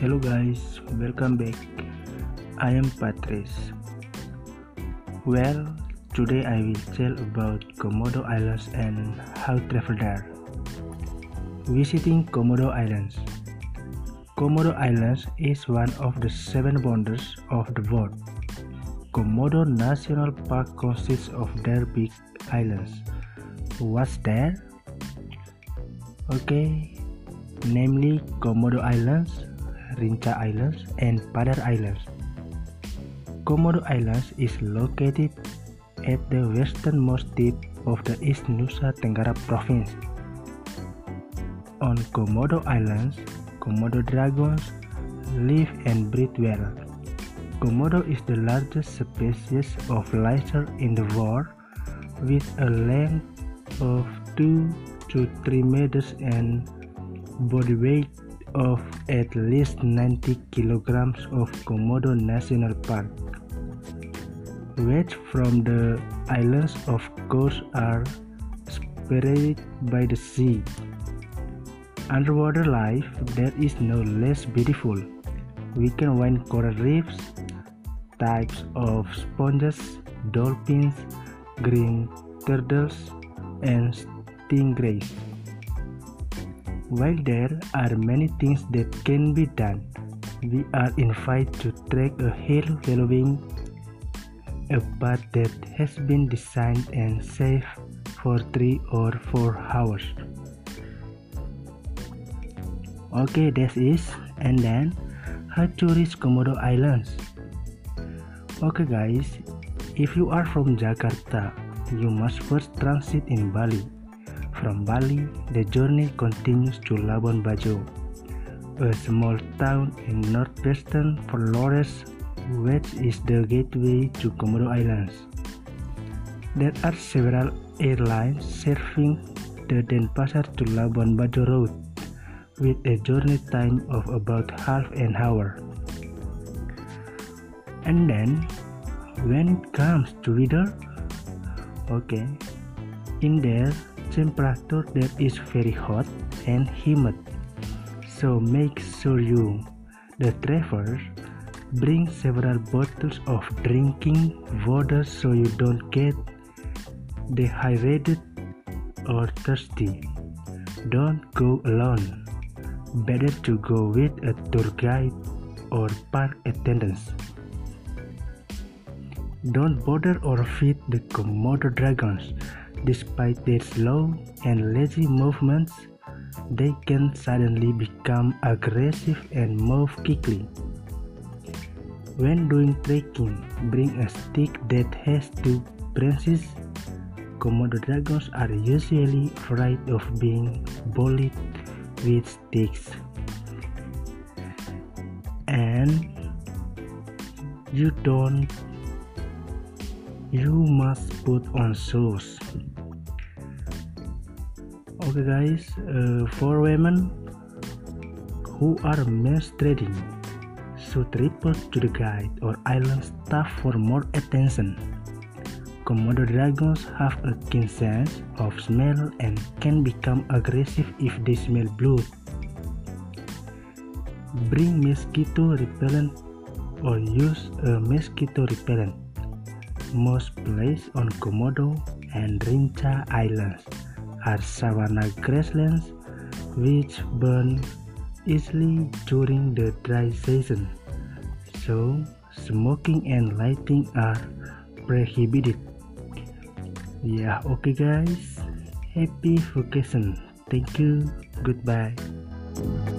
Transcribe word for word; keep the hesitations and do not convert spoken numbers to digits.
Hello guys, welcome back. I am Patrice. Well, today I will tell about Komodo Islands and how to travel there. Visiting Komodo Islands. Komodo Islands is one of the seven wonders of the world. Komodo National Park consists of their big islands. What's there? Okay, namely Komodo Islands, Rinca Islands, and Padar Islands. Komodo Islands is located at the westernmost tip of the East Nusa Tenggara province. On Komodo Islands, Komodo dragons live and breed well. Komodo is the largest species of lizard in the world, with a length of two to three meters and body weight of at least ninety kilograms of Komodo National Park. Waves from the islands of course are separated by the sea. Underwater life there is no less beautiful. We can find coral reefs, types of sponges, dolphins, green turtles, and stingrays. While there are many things that can be done, we are invited to trek a hill following a path that has been designed and safe for three or four hours. Okay, that is, and then how to reach Komodo Islands. Okay guys, if you are from Jakarta, you must first transit in Bali. From Bali, the journey continues to Labuan Bajo, a small town in northwestern Flores, which is the gateway to Komodo Islands. There are several airlines serving the Denpasar to Labuan Bajo route, with a journey time of about half an hour. And then, when it comes to weather, okay, in there, temperature that is very hot and humid, so make sure you, the traveler, bring several bottles of drinking water so you don't get dehydrated or thirsty. Don't go alone. Better to go with a tour guide or park attendants. Don't bother or feed the Komodo dragons. Despite their slow and lazy movements, they can suddenly become aggressive and move quickly. When doing trekking, bring a stick that has two branches. Komodo dragons are usually afraid of being bullied with sticks. And you don't you must put on shoes. Okay guys, uh, for women who are menstruating should report to the guide or island staff for more attention. Komodo dragons have a keen sense of smell and can become aggressive if they smell blood. Bring mosquito repellent or use a mosquito repellent. Most places on Komodo and Rinca Islands are savanna grasslands which burn easily during the dry season, so smoking and lighting are prohibited. Yeah, okay guys, happy vacation. Thank you, goodbye.